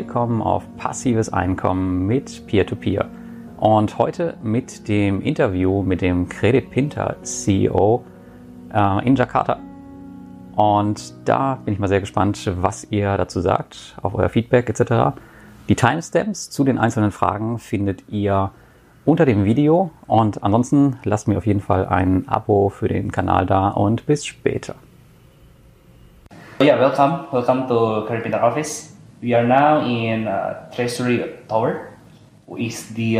willkommen auf Passives Einkommen mit Peer-to-Peer. Und heute mit dem Interview mit dem Credit Pintar CEO in Jakarta. Und da bin ich mal sehr gespannt, was ihr dazu sagt, auf euer Feedback etc. Die Timestamps zu den einzelnen Fragen findet ihr unter dem Video. Und ansonsten lasst mir auf jeden Fall ein Abo für den Kanal da und bis später. Yeah, welcome to Credit Pintar office. We are now in Treasury Tower, which is the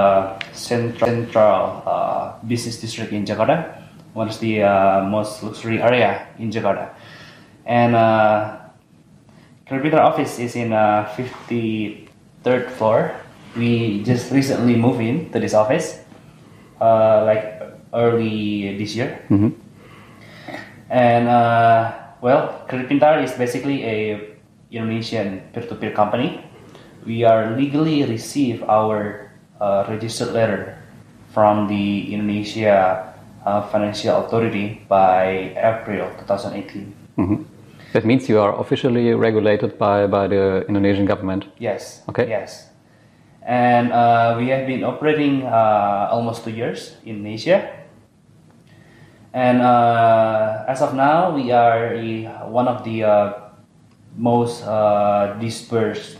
central business district in Jakarta, one of the most luxury area in Jakarta. And Credit Pintar office is in 53rd floor. We just recently moved in to this office, like early this year. Mm-hmm. And well, Credit Pintar is basically a Indonesian peer-to-peer company. We are legally receive our registered letter from the Indonesia Financial Authority by April 2018. Mm-hmm. That means you are officially regulated by the Indonesian government? Yes. Okay. Yes. And we have been operating almost 2 years in Indonesia. And as of now, we are one of the most dispersed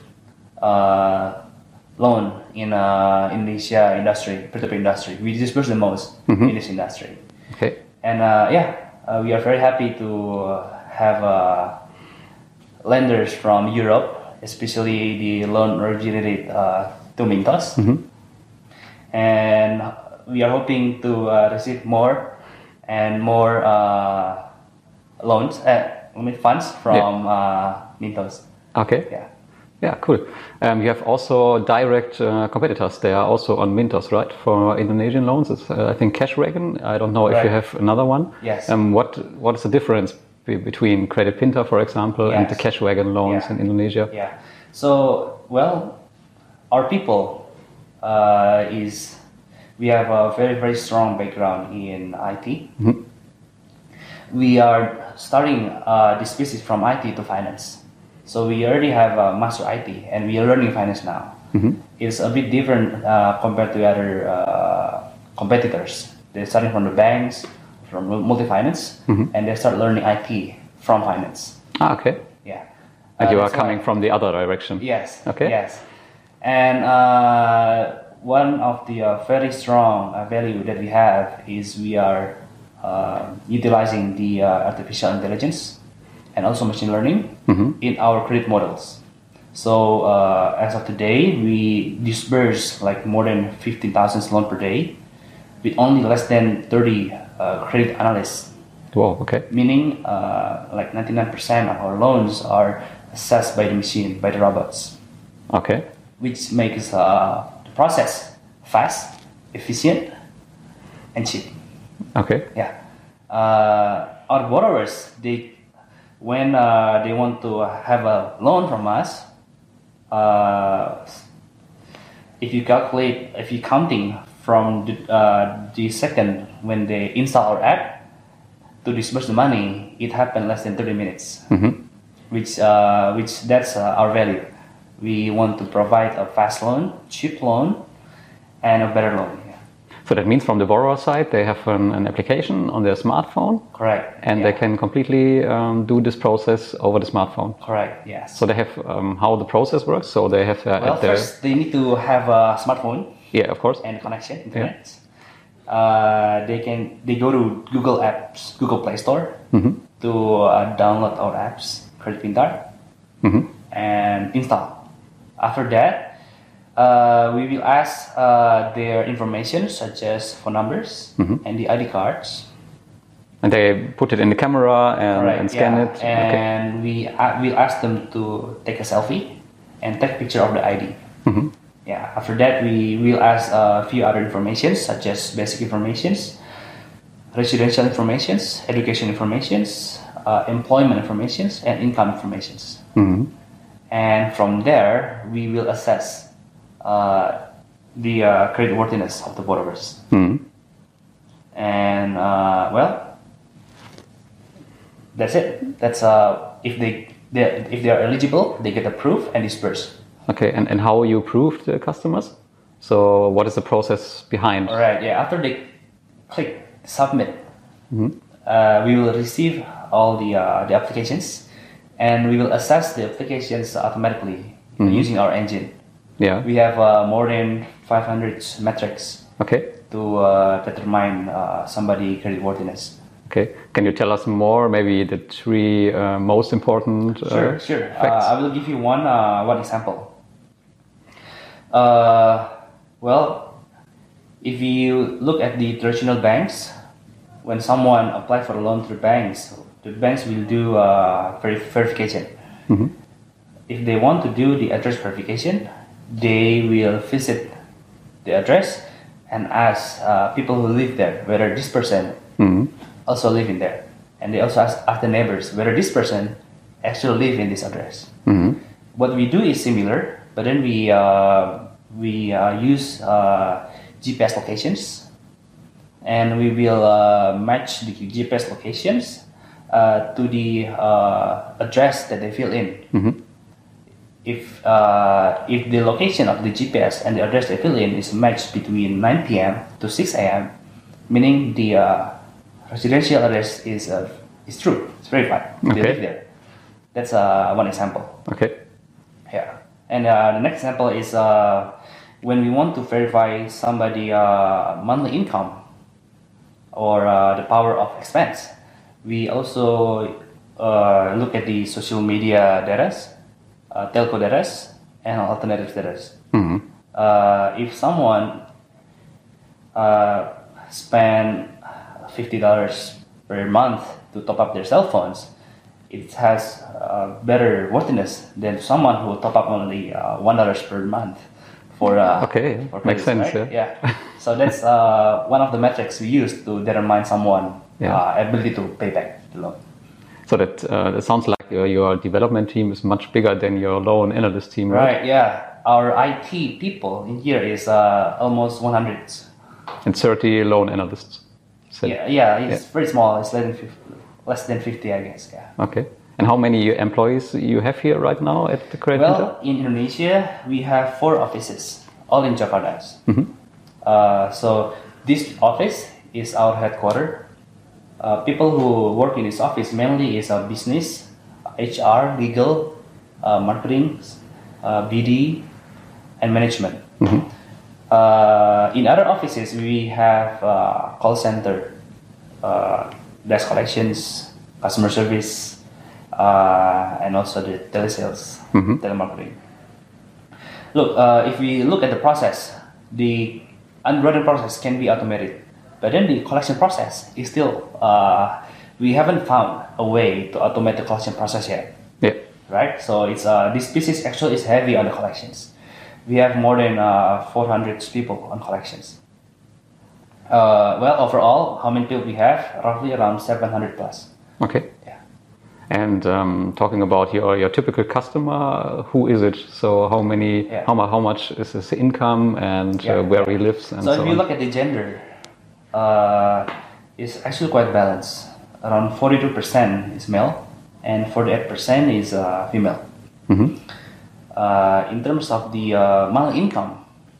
loan in Indonesia industry, peer-to-peer industry. We disperse the most in this industry. Okay. And we are very happy to have lenders from Europe, especially the loan originated to Mintos. Mm-hmm. And we are hoping to receive more and more funds from Mintos. Okay. Yeah. Yeah, cool. You have also direct competitors. They are also on Mintos, right? For Indonesian loans, it's I think Cashwagon. I don't know if you have another one. Yes. What is the difference between Credit Pintar, for example, and the Cashwagon loans in Indonesia? Yeah. So, well, our people we have a very, very strong background in IT. Mm-hmm. We are starting this business from IT to finance. So we already have a master IT and we are learning finance now. Mm-hmm. It's a bit different compared to other competitors. They're starting from the banks, from multi-finance, and they start learning IT from finance. Okay. Yeah. And you are coming from the other direction. Yes. Okay. Yes. And one of the very strong value that we have is we are utilizing the artificial intelligence and also machine learning in our credit models. So as of today, we disburse like more than 15,000 loans per day with only less than 30 credit analysts. Wow, okay. Meaning like 99% of our loans are assessed by the machine, by the robots. Okay. Which makes the process fast, efficient, and cheap. Okay. Yeah. Our borrowers, when they want to have a loan from us, if you counting from the second when they install our app to disburse the money, it happened less than 30 minutes. Mm-hmm. Which that's our value. We want to provide a fast loan, cheap loan, and a better loan. So that means from the borrower side, they have an application on their smartphone. Correct. And they can completely do this process over the smartphone. Correct, yes. So they have how the process works. So they have first they need to have a smartphone. Yeah, of course. And connection, internet. Yeah. They go to Google Apps, Google Play Store to download our apps, Credit Pintar, and install. After that, we will ask their information such as phone numbers and the ID cards. And they put it in the camera and scan it? And we will ask them to take a selfie and take a picture of the ID. Mm-hmm. Yeah. After that, we will ask a few other information such as basic informations, residential informations, education informations, employment informations, and income informations. Mm-hmm. And from there, we will assess the creditworthiness of the borrowers. Mm-hmm. And well, that's it. That's if they are eligible, they get approved and dispersed Okay, and how you approve the customers? So what is the process behind? All right, yeah. After they click submit, we will receive all the applications, and we will assess the applications automatically using our engine. Yeah. We have more than 500 metrics to determine somebody creditworthiness. Okay. Can you tell us more? Maybe the three most important Sure. facts? I will give you one example. Well, if you look at the traditional banks, when someone applies for a loan through banks, the banks will do verification. If they want to do the address verification, they will visit the address and ask people who live there whether this person also live in there, and they also ask the neighbors whether this person actually live in this address. What we do is similar, but then we use GPS locations, and we will match the GPS locations to the address that they fill in. If the location of the GPS and the address they fill in is matched between 9 p.m. to 6 a.m., meaning the residential address is true, it's verified, they live there. That's one example. Okay. Yeah, and the next example is when we want to verify somebody monthly income or the power of expense. We also look at the social media data, telco data, and alternative data. If someone spend $50 per month to top up their cell phones, it has better worthiness than someone who top up only $1 per month for for makes sense. Right? Yeah. So that's one of the metrics we use to determine someone ability to pay back the loan. So that sounds like your development team is much bigger than your loan analyst team, right? Right. Yeah. Our IT people in here is almost 100. And 30 loan analysts. It's very small. It's less than 50, I guess. Yeah. Okay. And how many employees you have here right now at the Credit Pinter? Well, in Indonesia, we have 4 offices, all in Jakarta. So this office is our headquarters. People who work in this office mainly is business, HR, legal, marketing, BD, and management. In other offices, we have call center, desk collections, customer service, and also the telesales, telemarketing. Look, if we look at the process, the underwriting process can be automated, but then the collection process is still, we haven't found a way to automate the collection process yet. Yeah. Right? So it's this business actually is heavy on the collections. We have more than 400 people on collections. Well, overall, how many people we have? Roughly around 700 plus. Okay. Yeah. And talking about your typical customer, who is it? So how many? Yeah. How much is his income and where he lives and so on? So if you look at the gender, it's actually quite balanced. Around 42% is male and 48% is female. In terms of the monthly income,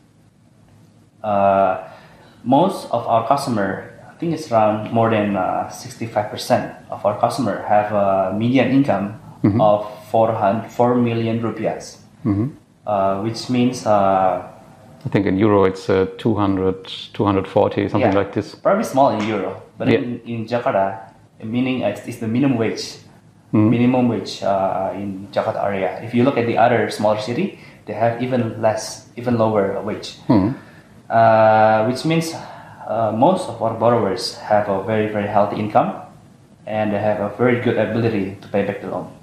most of our customer, I think it's around more than 65% of our customer have a median income of 4 million rupiahs, which means I think in euro it's 200, 240, something like this. Probably small in euro, but in Jakarta, meaning it's the minimum wage. Minimum wage in Jakarta area. If you look at the other smaller city, they have even lower wage. Which means most of our borrowers have a very, very healthy income, and they have a very good ability to pay back the loan.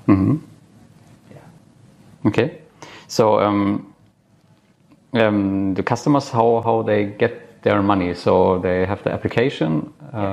Okay, so the customers, how they get their money? So they have the application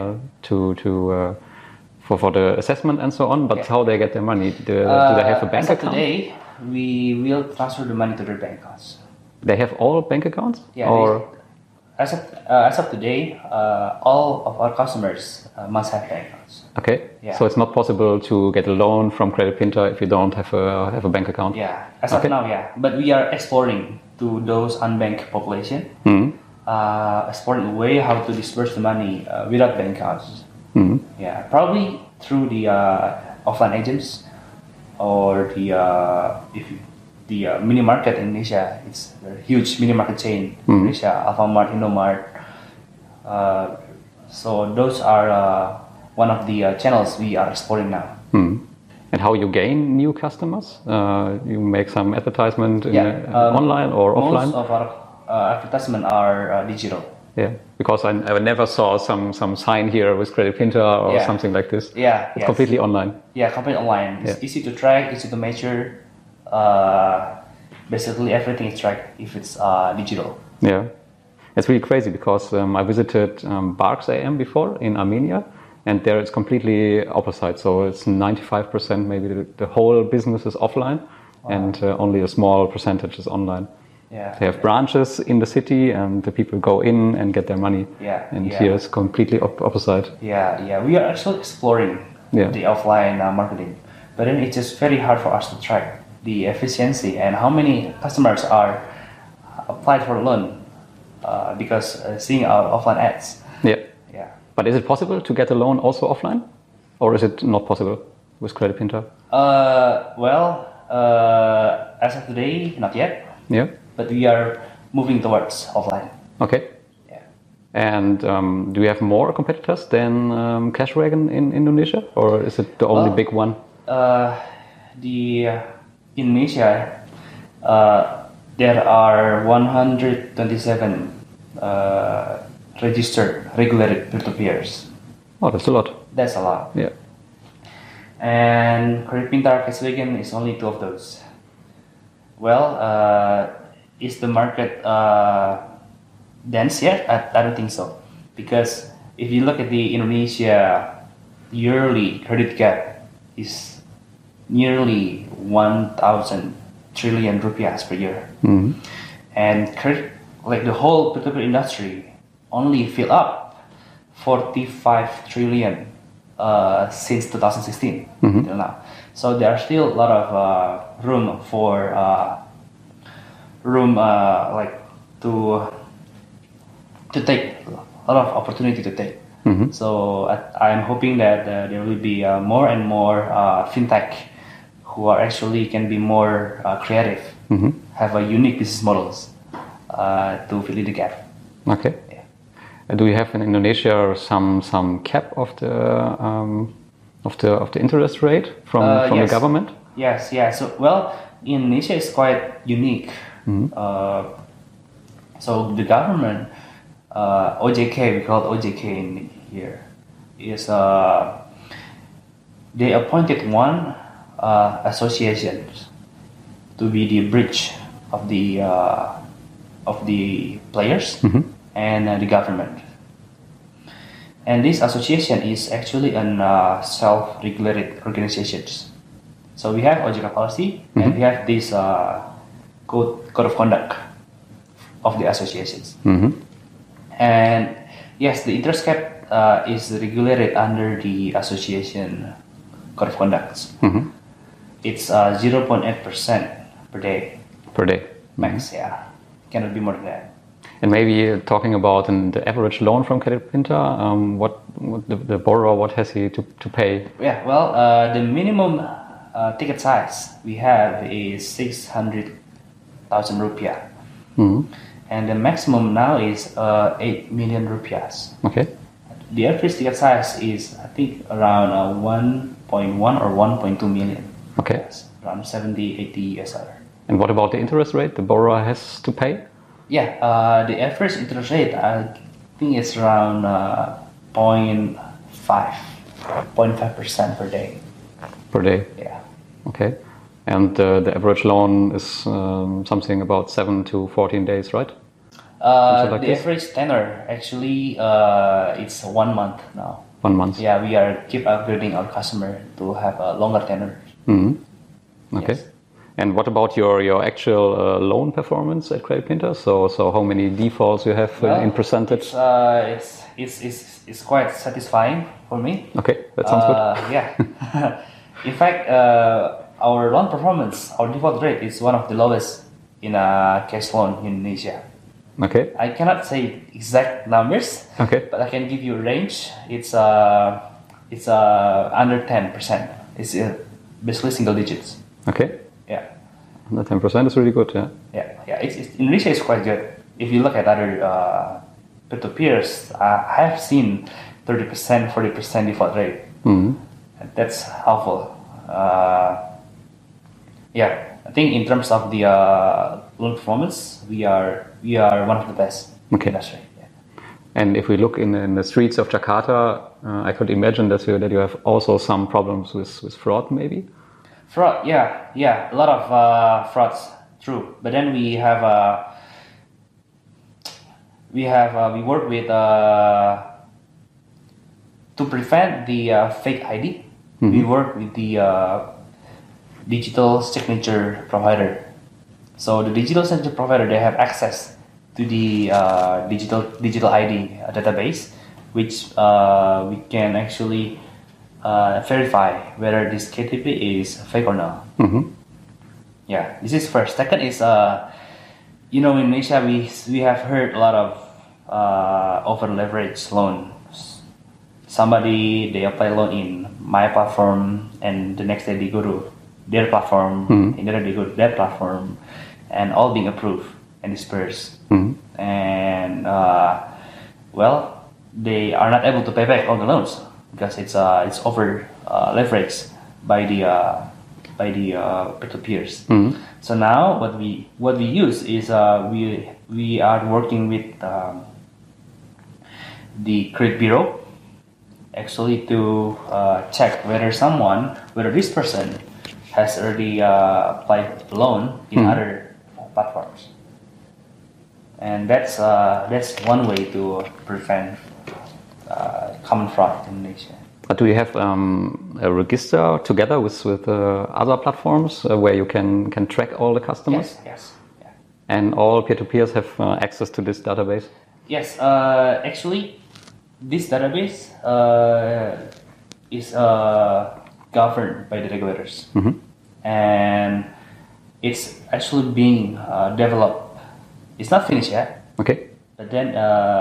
for the assessment and so on, but how they get their money? Do they have a bank account? Today, we will transfer the money to their bank accounts. They have all bank accounts? Yeah. Or as of today, all of our customers must have bank accounts. Okay. Yeah. So it's not possible to get a loan from Credit Pinter if you don't have a bank account. Yeah, as of now, yeah. But we are exploring to those unbanked population, exploring a way how to disperse the money without bank accounts. Yeah, probably through the offline agents or the mini market in Indonesia. It's a huge mini market chain in Indonesia, Alfamart, Indomart. So those are one of the channels we are exploring now. And how you gain new customers? You make some advertisement online or offline? Most of our advertisement are digital. Yeah, because I never saw some sign here with Credit Pinter or something like this. Yeah, it's completely online. Yeah, completely online. It's easy to track, easy to measure. Basically, everything is tracked if it's digital. Yeah, it's really crazy because I visited Barks AM before in Armenia, and there it's completely opposite. So it's 95% maybe the whole business is offline, and only a small percentage is online. Yeah, they have branches in the city, and the people go in and get their money. Here it's completely opposite. Yeah. We are actually exploring the offline marketing, but then it's just very hard for us to track the efficiency and how many customers are applied for a loan because seeing our offline ads. Yeah. But is it possible to get a loan also offline, or is it not possible with Credit Pinter? As of today, not yet. Yeah. But we are moving towards offline. Okay. Yeah. And do you have more competitors than Cashwagon in Indonesia, or is it the only big one? In Indonesia, there are 127 registered, regulated peer-to-peers. Oh, that's a lot. That's a lot. Yeah. And Credit Pintar Cashwagon is only 2 of those. Well, is the market dense yet? I don't think so. Because if you look at the Indonesia yearly credit gap is nearly 1,000 trillion rupiahs per year. And the whole peer-to-peer industry only fill up 45 trillion since 2016 until now. So there are still a lot of room for to take a lot of opportunity to take. So I'm hoping that there will be more and more fintech who are actually can be more creative, have a unique business models to fill in the gap. Okay. Yeah. Do you have in Indonesia some cap of the interest rate from the government? Yes. Yeah. So Indonesia is quite unique. So the government, OJK, we call it OJK in here, is they appointed one association to be the bridge of the players and the government. And this association is actually an self-regulated organizations. So we have OJK policy and we have this code of conduct of the associations. And yes, the interest cap is regulated under the association code of conduct. It's 0.8% per day. Per day. Max, yeah. Cannot be more than that. And maybe talking about the average loan from Credit Pinter, what the borrower, what has he to pay? Yeah, the minimum ticket size we have is 600,000 rupiah. And the maximum now is 8 million rupiahs. Okay. The average ticket size is, I think, around 1.1 or 1.2 million. Okay. Yes, around 70-80 SR. And what about the interest rate the borrower has to pay? Yeah, the average interest rate, I think it's around 0.5% per day. Per day? Yeah. Okay. And the average loan is something about 7 to 14 days, right? Like the average tenor, actually, it's 1 month now. 1 month? Yeah, we are keep upgrading our customer to have a longer tenor. Okay. Yes. And what about your actual loan performance at Credit Pinter? So how many defaults you have in percentage? It's quite satisfying for me. Okay, that sounds good. Yeah. In fact, our loan performance, our default rate is one of the lowest in a cash loan in Indonesia. Okay. I cannot say exact numbers. Okay. But I can give you a range. It's under 10%. It's basically single digits. Okay. Yeah. The 10% is really good, yeah. Yeah. It's Indonesia is quite good. If you look at other peer-to-peers, I have seen 30%, 40% default rate. Mm-hmm. That's helpful. Yeah, I think in terms of the loan performance, we are one of the best in the industry. Yeah. And if we look in the streets of Jakarta, I could imagine that you have also some problems with fraud, maybe. Fraud, yeah, a lot of frauds, true. But then we work with to prevent the fake ID. Mm-hmm. We work with the digital signature provider. So the digital signature provider, they have access to the digital ID database, which we can actually verify whether this KTP is fake or not. Mm-hmm. Yeah, this is first. Second is, in Indonesia we have heard a lot of over leverage loans. Somebody, they apply loan in my platform, and the next day they go to their platform, and then they go to their platform, and all being approved and dispersed. Mm-hmm. And they are not able to pay back all the loans because it's over leveraged by the peer-to-peers. Mm-hmm. So now what we use is we are working with the credit bureau actually to check whether this person has already applied loan in other platforms, and that's one way to prevent common fraud in Indonesia. But do you have a register together with other platforms where you can track all the customers? Yes. Yeah. And all peer-to-peers have access to this database? Yes, actually, this database is governed by the regulators, mm-hmm. and it's actually being developed. It's not finished yet. Okay. But then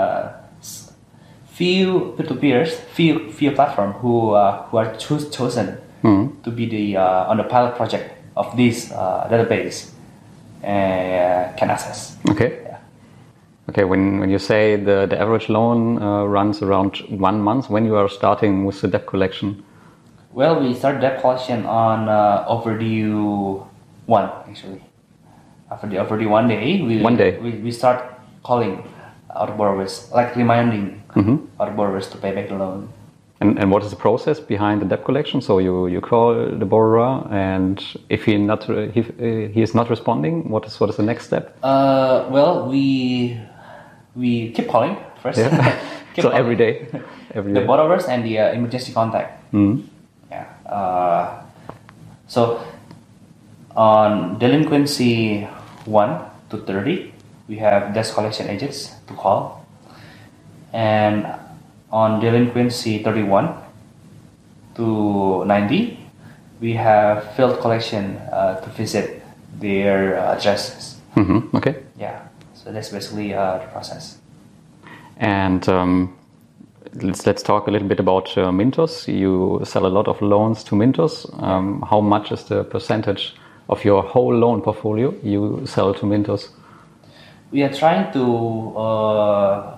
few peer-to-peers, few platform who are chosen mm-hmm. to be the on the pilot project of this database can access. Okay. Yeah. Okay. When you say the average loan runs around 1 month, when you are starting with the debt collection? Well, we start debt collection on overdue 1 actually. After the overdue 1 day, we start calling our borrowers, like reminding mm-hmm. our borrowers to pay back the loan. And what is the process behind the debt collection? So you call the borrower, and if he is not responding, what is the next step? Well, we keep calling first. Yeah. So calling. every day. The borrowers and the emergency contact. Mm-hmm. Yeah. So on delinquency 1 to 30, we have debt collection agents to call, and on delinquency 31 to 90, we have field collection to visit their addresses. Mm-hmm. Okay. Yeah. So that's basically the process. And let's talk a little bit about Mintos. You sell a lot of loans to Mintos. How much is the percentage of your whole loan portfolio you sell to Mintos? We are trying to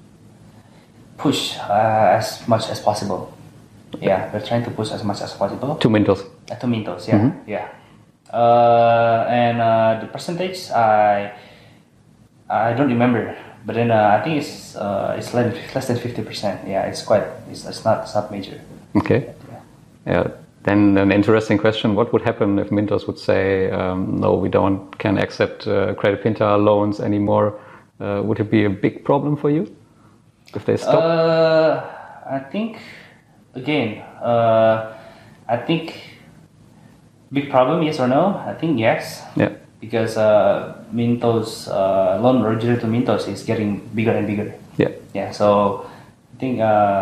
push as much as possible. Yeah, we're trying to push as much as possible. To Mintos? To Mintos, yeah. Mm-hmm. Yeah. And the percentage, I don't remember. But then I think it's less than 50%. Yeah, it's not major. Okay. Yeah. Then an interesting question: what would happen if Mintos would say, no, we can accept Credit Pinter loans anymore? Would it be a big problem for you if they stop? I think again, Big problem, yes or no? I think yes. Yeah. Because Mintos loan originated to Mintos is getting bigger and bigger. Yeah. Yeah. So I think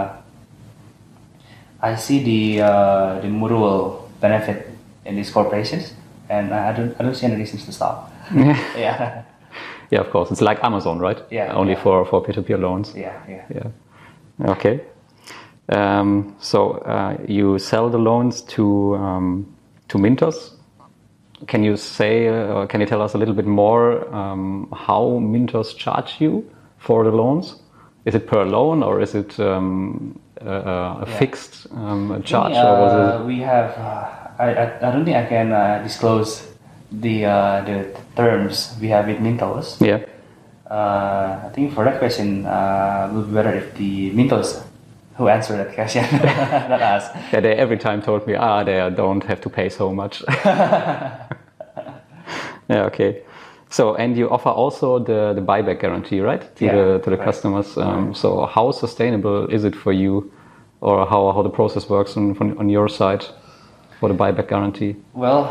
I see the mutual benefit in these corporations, and I don't see any reasons to stop. Yeah. Yeah, of course. It's like Amazon, right? Yeah. Only yeah. for peer-to-peer loans. Yeah. Yeah. Yeah. Okay. So you sell the loans to Mintos. Can you say, or can you tell us a little bit more how Mintos charge you for the loans? Is it per loan or is it a fixed charge? Or was it... We have. I don't think I can disclose the terms we have with Mintos. Yeah. I think for that question, it would be better if the Mintos who answer that question, not us. Yeah, they every time told me, they don't have to pay so much. Yeah, okay. So, and you offer also the buyback guarantee, right? To the customers. So, how sustainable is it for you, or how the process works on your side for the buyback guarantee? Well,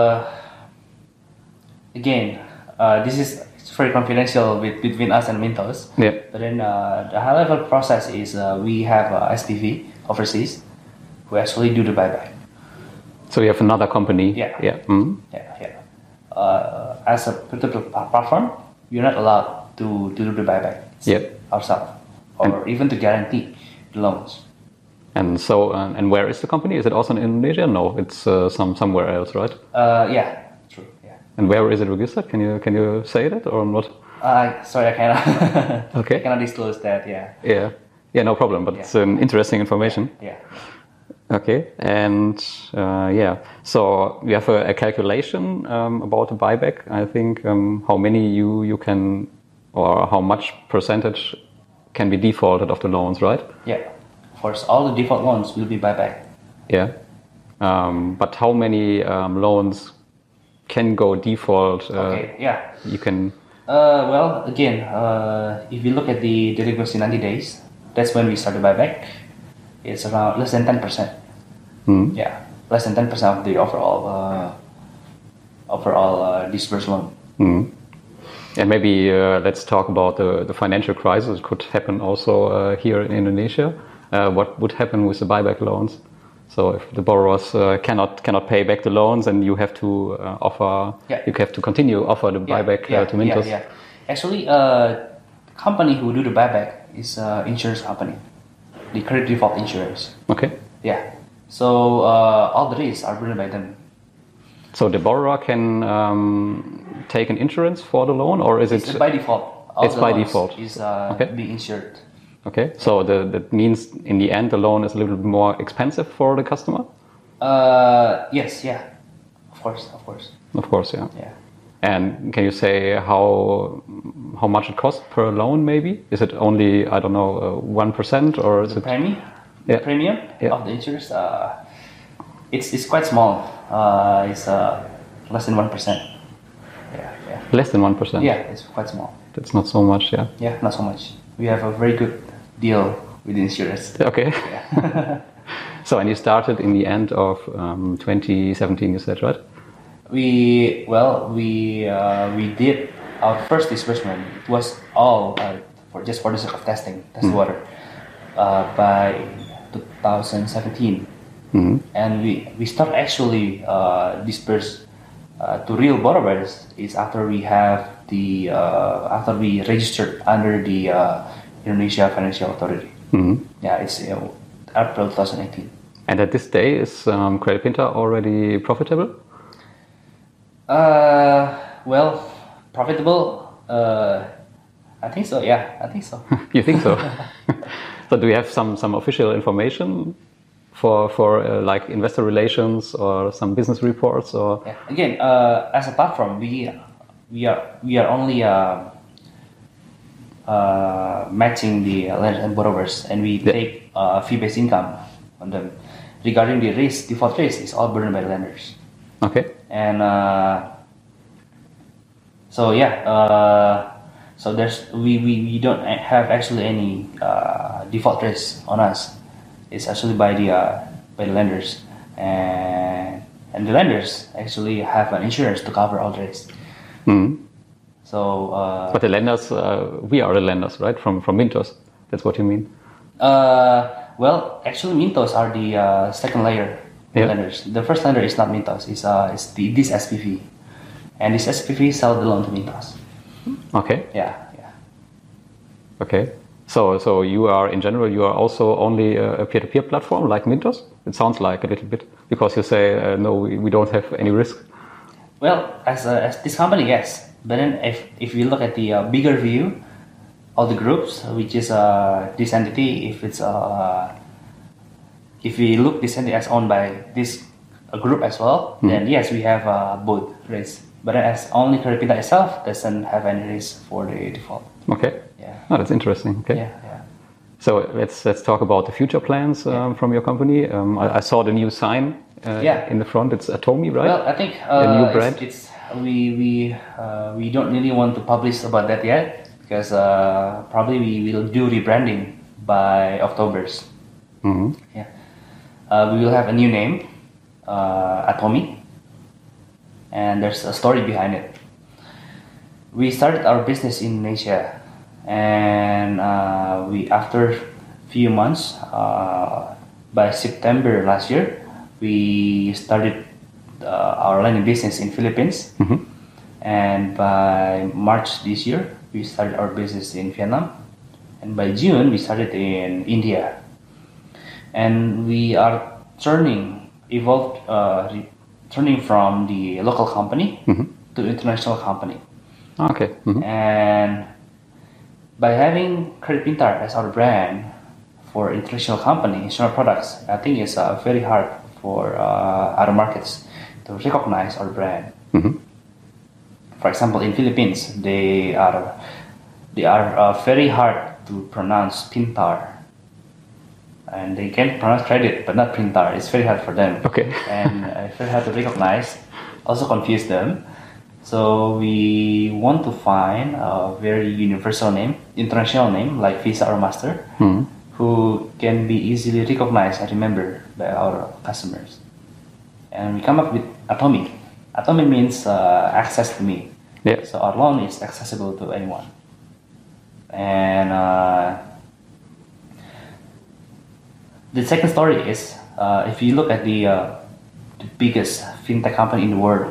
again, this is very confidential between us and Mintos. Yeah. But then the high-level process is we have SPV overseas who actually do the buyback. So you have another company. Yeah. Yeah. Mm-hmm. Yeah. As a peer-to-peer platform, you're not allowed to do the buyback ourselves, or even to guarantee the loans. And so, and where is the company? Is it also in Indonesia? No, it's somewhere else, right? Yeah, true. Yeah. And where is it registered? Can you say that or not? Sorry, I cannot. Okay. I cannot disclose that. Yeah. Yeah, no problem. But it's interesting information. Yeah. Okay, and so we have a calculation about the buyback. I think how many you can, or how much percentage can be defaulted of the loans, right? Yeah, of course, all the default loans will be buyback. Yeah, but how many loans can go default? Okay, yeah. You can. Well, again, if you look at the delinquency 90 days, that's when we start the buyback. It's around less than 10%. Yeah, less than 10% of the overall disbursed loan. And maybe let's talk about the financial crisis. It could happen also here in Indonesia. What would happen with the buyback loans? So if the borrowers cannot pay back the loans, and you have to you have to continue offer the buyback to Mintos. Yeah. Actually, company who do the buyback is insurance company, the credit default insurance. Okay. Yeah. So all the risks are borne by them. So the borrower can take an insurance for the loan, or is it's by default? It's by default. Is being insured. Okay. So that means in the end the loan is a little bit more expensive for the customer. Yes. Yeah. Of course. Of course. Yeah. Yeah. And can you say how much it costs per loan? Maybe is it only 1% or is it premium? The premium of the insurance, it's quite small. It's less than 1%. Yeah. Less than 1%. Yeah, it's quite small. That's not so much. Yeah. Yeah, not so much. We have a very good deal with the insurance. Okay. Yeah. So, and you started in the end of 2017. You said, right? We did our first disbursement. It was all for the sake of test water by 2017, and we start actually disperse to real borrowers is after we have after we registered under the Indonesia Financial Authority. Yeah, it's April 2018. And at this day, is Credit Pinter already profitable? Well, profitable. I think so. Yeah, I think so. You think so? So do we have some official information for like investor relations or some business reports or? Yeah. Again, as a platform, we are only matching the lenders and borrowers, and we take fee-based income on them. Regarding the default risk is all burdened by the lenders. Okay. And so there's we don't have actually any default risk on us. It's actually by the lenders, and and the lenders actually have an insurance to cover all the risk. So, but the lenders, we are the lenders, right? From Mintos. That's what you mean? Well, actually, Mintos are the second layer lenders. The first lender is not Mintos. It's this SPV, and this SPV sell the loan to Mintos. Okay. Yeah. Okay. So you are, in general, you are also only a peer-to-peer platform like Mintos? It sounds like a little bit, because you say, no, we don't have any risk. Well, as this company, yes. But then if you look at the bigger view of the groups, which is this entity, if we look this entity as owned by this group as well, then yes, we have both risks. But then as only Credit Pintar itself doesn't have any risk for the default. Okay. Yeah. Oh, that's interesting. Okay. Yeah. So let's talk about the future plans from your company. I saw the new sign in the front. It's Atomi, right? Well, I think a new brand. We don't really want to publish about that yet, because probably we will do rebranding by October's. Yeah. We will have a new name, Atomi, and there's a story behind it. We started our business in Indonesia, and after few months, by September last year, we started our lending business in Philippines, and by March this year, we started our business in Vietnam, and by June, we started in India. And we are turning from the local company to international company. Okay. And by having Credit Pintar as our brand for international company, international products, I think it's very hard for other markets to recognize our brand. For example, in Philippines, they are very hard to pronounce Pintar. And they can pronounce credit, but not Pintar. It's very hard for them. Okay. And it's very hard to recognize, also confuse them. So we want to find a very universal name, international name, like Visa or Master, who can be easily recognized and remembered by our customers. And we come up with Atomi. Atomi means access to me. Yeah. So our loan is accessible to anyone. And the second story is, if you look at the biggest fintech company in the world,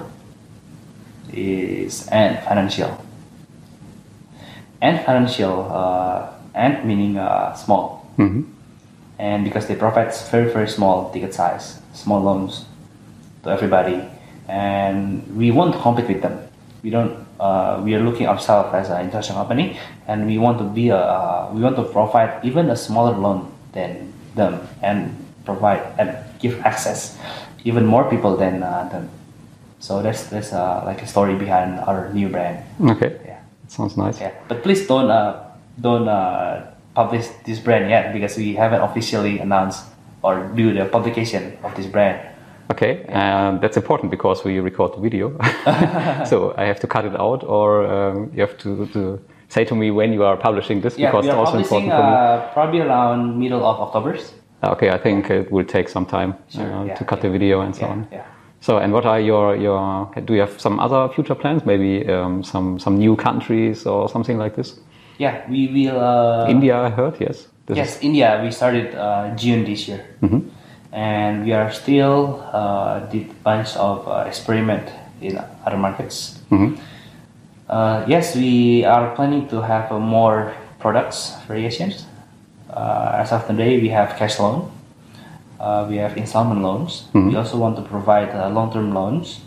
is Ant Financial. Ant Financial, Ant meaning small, and because they provide very, very small ticket size, small loans to everybody, and we want to compete with them. We don't. We are looking ourselves as an international company, and we want to be we want to provide even a smaller loan than them, and provide and give access even more people than them. So that's like a story behind our new brand. Okay. Yeah. That sounds nice. Yeah. But please don't publish this brand yet, because we haven't officially announced or do the publication of this brand. Okay, that's important because we record the video. So I have to cut it out, or you have to say to me when you are publishing this, because we are it's also publishing important for me. Probably around middle of October. Okay, I think it will take some time to cut the video and so on. Yeah. So, and what are your? Do you have some other future plans? Maybe some new countries or something like this? Yeah, we will. India, I heard. Yes. India. We started June this year, and we are still did bunch of experiment in other markets. Yes, we are planning to have more products variations. As of today, we have cash loan. We have installment loans. We also want to provide long-term loans.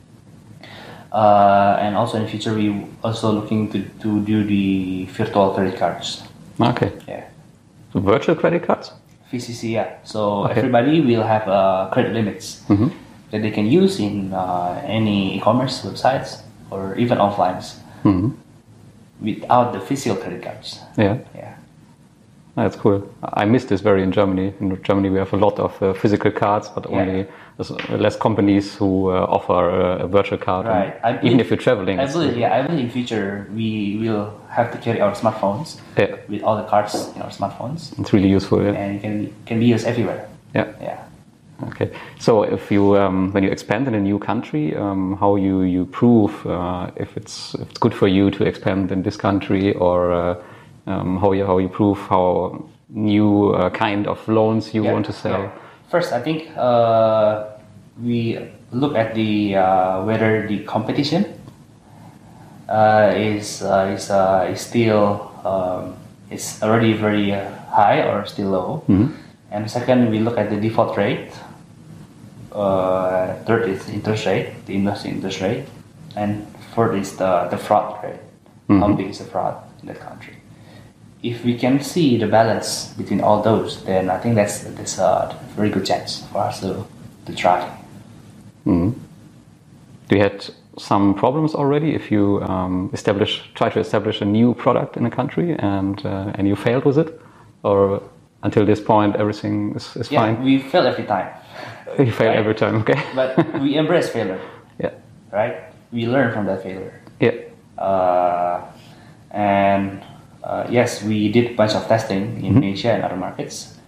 And also in the future, we also looking to do the virtual credit cards. Okay. Yeah. So virtual credit cards? VCC, yeah. So everybody will have credit limits that they can use in any e-commerce websites or even offlines without the physical credit cards. Yeah. Yeah. That's cool. I miss this very in Germany. In Germany, we have a lot of physical cards, but only less companies who offer a virtual card. Right. Even if you're traveling. I believe in future we will have to carry our smartphones with all the cards in our smartphones. It's really useful. Yeah. And it can be used everywhere. Yeah. Yeah. Okay. So if you when you expand in a new country, how you prove if it's good for you to expand in this country, or how you prove how new kind of loans you want to sell? Yeah. First, I think we look at the whether the competition is still is already very high or still low. Mm-hmm. And second, we look at the default rate. Third is interest rate, the investing interest rate, and fourth is the fraud rate. Mm-hmm. How big is the fraud in that country? If we can see the balance between all those, then I think that's a very good chance for us to try. Mm-hmm. Do you had some problems already if you try to establish a new product in a country and you failed with it, or until this point everything is fine? Yeah, we fail every time. You fail every time, okay. But we embrace failure. Yeah. Right? We learn from that failure. Yeah. Yes, we did a bunch of testing in Asia and other markets.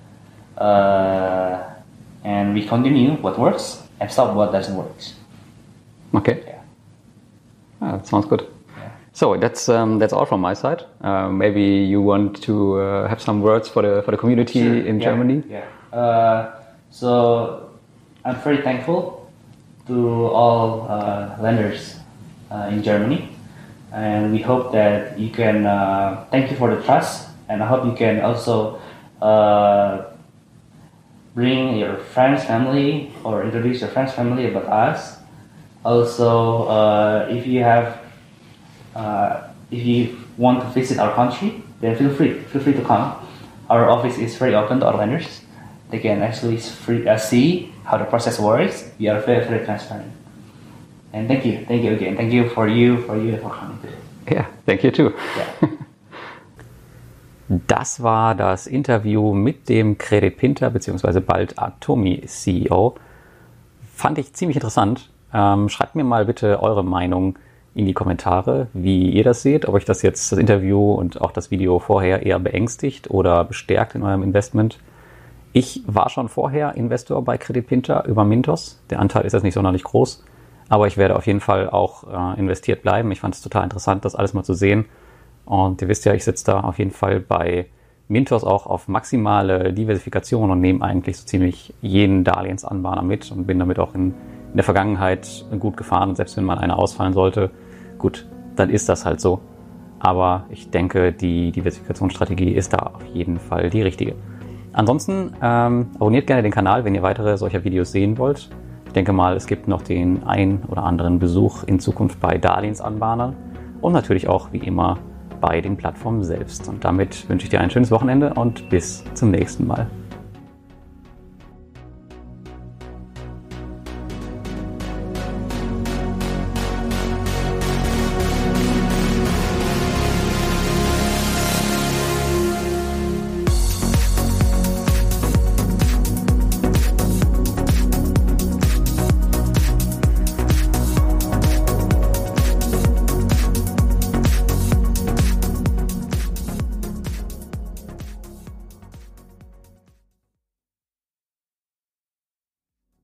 And we continue what works and stop what doesn't work. Okay. Yeah. Ah, that sounds good. Yeah. So that's all from my side. Maybe you want to have some words for the community in Germany? Yeah. So I'm very thankful to all lenders in Germany, and we hope that you can thank you for the trust, and I hope you can also bring your friends, family, or introduce your friends, family about us. Also, if you want to visit our country, then feel free to come. Our office is very open to our lenders. They can actually see how the process works. We are very, very transparent. And thank you again. Thank you for coming today. Yeah, thank you too. Yeah. Das war das Interview mit dem Credit Pinter bzw. bald Atomi CEO. Fand ich ziemlich interessant. Schreibt mir mal bitte eure Meinung in die Kommentare, wie ihr das seht, ob euch das Interview und auch das Video vorher eher beängstigt oder bestärkt in eurem Investment. Ich war schon vorher Investor bei Credit Pinter über Mintos. Der Anteil ist jetzt nicht sonderlich groß, aber ich werde auf jeden Fall auch investiert bleiben. Ich fand es total interessant, das alles mal zu sehen. Und ihr wisst ja, ich sitze da auf jeden Fall bei Mintos auch auf maximale Diversifikation und nehme eigentlich so ziemlich jeden Darlehensanbahner mit und bin damit auch in der Vergangenheit gut gefahren. Und selbst wenn mal einer ausfallen sollte, gut, dann ist das halt so. Aber ich denke, die Diversifikationsstrategie ist da auf jeden Fall die richtige. Ansonsten abonniert gerne den Kanal, wenn ihr weitere solcher Videos sehen wollt. Ich denke mal, es gibt noch den ein oder anderen Besuch in Zukunft bei Darlehensanbahnern und natürlich auch wie immer bei den Plattformen selbst. Und damit wünsche ich dir ein schönes Wochenende und bis zum nächsten Mal.